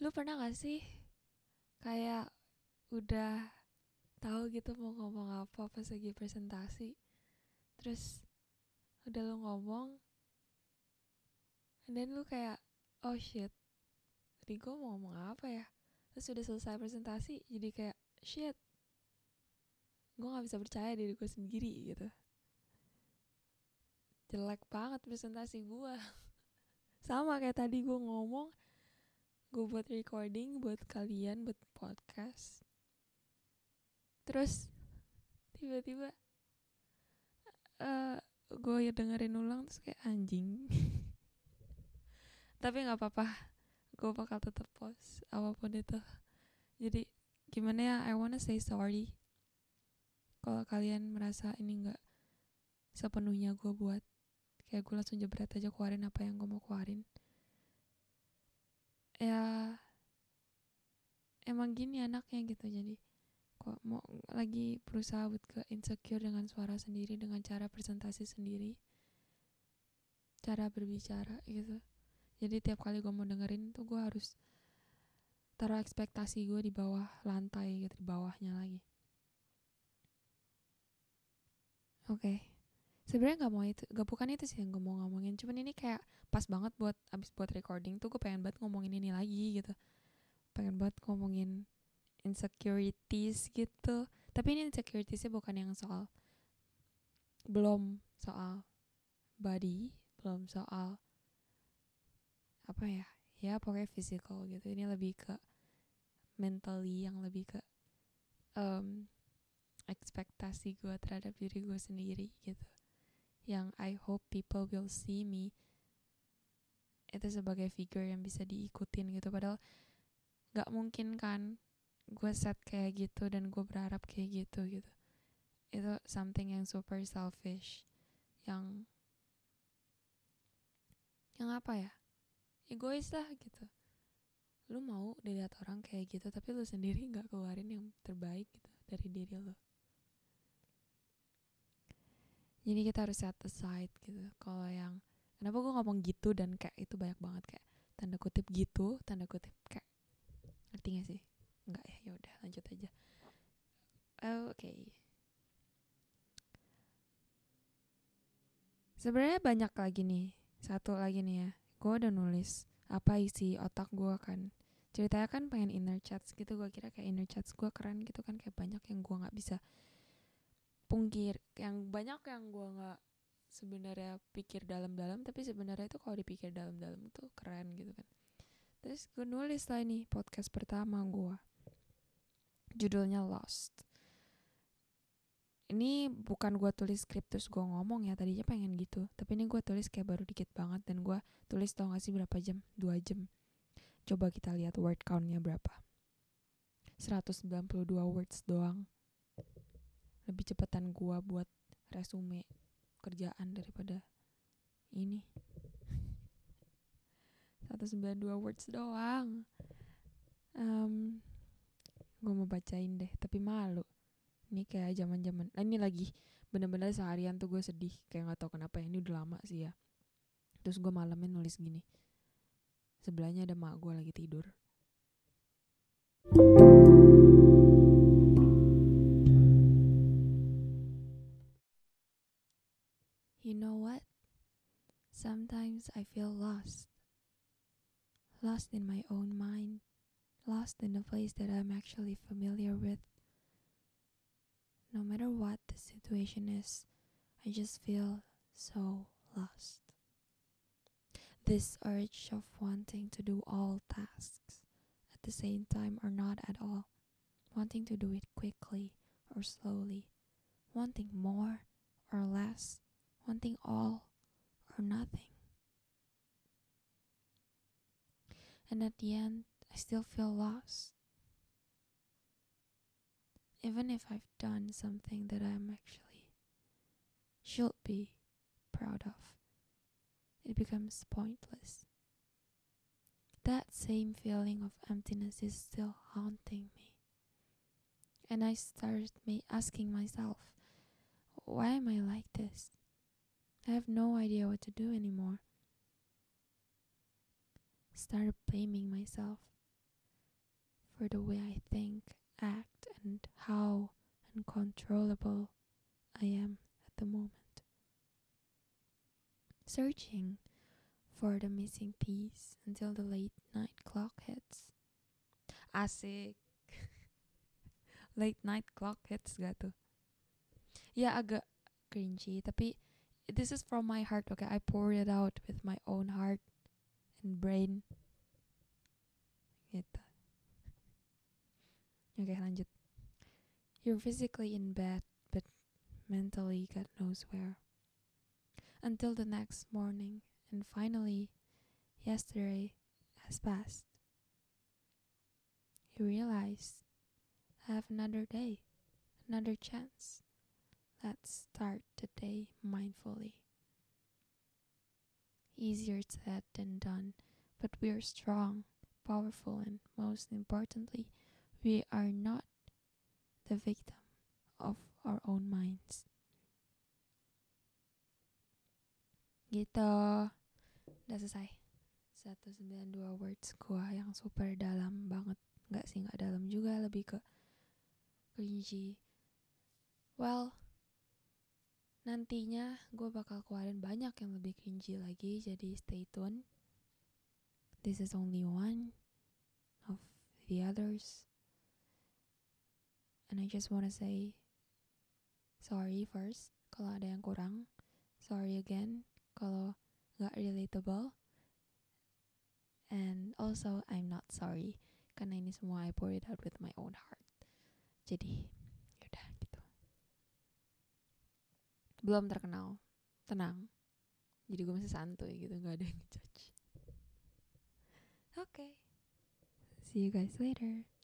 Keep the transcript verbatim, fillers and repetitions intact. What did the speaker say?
Lu pernah gak sih kayak udah tahu gitu mau ngomong apa pas lagi presentasi, terus udah lu ngomong, and then lu kayak oh shit, tadi gue mau ngomong apa ya? Terus udah selesai presentasi, jadi kayak shit, gue nggak bisa percaya diri gue sendiri gitu. Jelek banget presentasi gue. Sama kayak tadi gue ngomong, gue buat recording buat kalian, buat podcast. Terus tiba-tiba uh, gue ya dengerin ulang terus kayak anjing. Tapi nggak apa-apa, gue bakal tetap post apapun itu. Jadi gimana ya, I wanna say sorry kalau kalian merasa ini nggak sepenuhnya gue buat. Kayak gue langsung jebret aja keluarin apa yang gue mau keluarin. Ya emang gini anaknya gitu. Jadi kok mau lagi berusaha buat ke insecure dengan suara sendiri, dengan cara presentasi sendiri, cara berbicara gitu. Jadi tiap kali gue mau dengerin tuh gue harus taruh ekspektasi gue di bawah lantai gitu, di bawahnya lagi. Oke, okay. Sebenarnya nggak mau itu, gak bukan itu sih yang gue mau ngomongin. Cuman ini kayak pas banget buat abis buat recording tuh gue pengen banget ngomongin ini lagi gitu. Pengen banget ngomongin insecurities gitu. Tapi ini insecuritiesnya bukan yang soal, belum soal body, belum soal apa ya, ya pokoknya physical gitu. Ini lebih ke mentally, yang lebih ke um, ekspektasi gue terhadap diri gue sendiri gitu. Yang I hope people will see me itu sebagai figure yang bisa diikutin gitu. Padahal gak mungkin kan gue set kayak gitu dan gue berharap kayak gitu gitu. Itu something yang super selfish, yang yang apa ya, egois lah gitu. Lu mau dilihat orang kayak gitu tapi lu sendiri gak keluarin yang terbaik gitu dari diri lu. Jadi kita harus set aside gitu. Kalau yang kenapa gue ngomong gitu dan kayak itu banyak banget kayak tanda kutip gitu, tanda kutip kayak, ngerti gak sih? Enggak ya, ya udah lanjut aja. Oh, oke. Okay. Sebenarnya banyak lagi nih. Satu lagi nih ya. Gue udah nulis apa isi otak gue kan. Ceritanya kan pengen inner chats gitu. Gue kira kayak inner chats gue keren gitu kan. Kayak banyak yang gue gak bisa pungkir. Yang banyak yang gue gak sebenarnya pikir dalam-dalam. Tapi sebenarnya itu kalau dipikir dalam-dalam tuh keren gitu kan. Terus gue nulis lah nih podcast pertama gue. Judulnya Lost. Ini bukan gue tulis skrip terus gue ngomong ya, tadinya pengen gitu. Tapi ini gue tulis kayak baru dikit banget. Dan gue tulis tau gak sih berapa jam? dua jam. Coba kita lihat word countnya berapa. seratus sembilan puluh dua words doang. Lebih cepetan gue buat resume kerjaan daripada ini. seratus sembilan puluh dua words doang. um, Gue mau bacain deh, tapi malu. Ini kayak zaman-zaman. Nah, ini lagi bener-bener seharian tuh gue sedih. Kayak gak tau kenapa ya. Ini udah lama sih ya. Terus gue malamnya nulis gini. Sebelahnya ada mak gue lagi tidur. You know what? Sometimes I feel lost. Lost in my own mind. Lost in a place that I'm actually familiar with. No matter what the situation is, I just feel so lost. This urge of wanting to do all tasks at the same time or not at all. Wanting to do it quickly or slowly. Wanting more or less. Wanting all or nothing. And at the end, I still feel lost. Even if I've done something that I'm actually should be proud of, it becomes pointless. That same feeling of emptiness is still haunting me. And I started asking myself, why am I like this? I have no idea what to do anymore. Started blaming myself. for the way I think, act, and how uncontrollable I am at the moment. Searching for the missing piece until the late night clock hits. Asik. Late night clock hits gak tuh? Ya agak cringy, tapi this is from my heart, okay? I pour it out with my own heart and brain. Gitu. Oke, lanjut. You're physically in bed, but mentally God knows where. Until the next morning, and finally, yesterday has passed. You realize, I have another day, another chance. Let's start the day mindfully. Easier said than done, but we are strong, powerful, and most importantly, we are not the victim of our own minds. Gitu. Udah selesai. seratus sembilan puluh dua words gua yang super dalam banget. Enggak sih, enggak dalam juga, lebih ke cringy. Well, nantinya gue bakal keluarin banyak yang lebih cringy lagi, jadi stay tune. This is only one of the others. And I just wanna say sorry first kalau ada yang kurang. Sorry again kalau gak relatable. And also I'm not sorry karena ini semua I pour it out with my own heart. Jadi yaudah gitu. Belum terkenal, tenang. Jadi gue masih santuy gitu, gak ada yang ngejudge. Okay, see you guys later.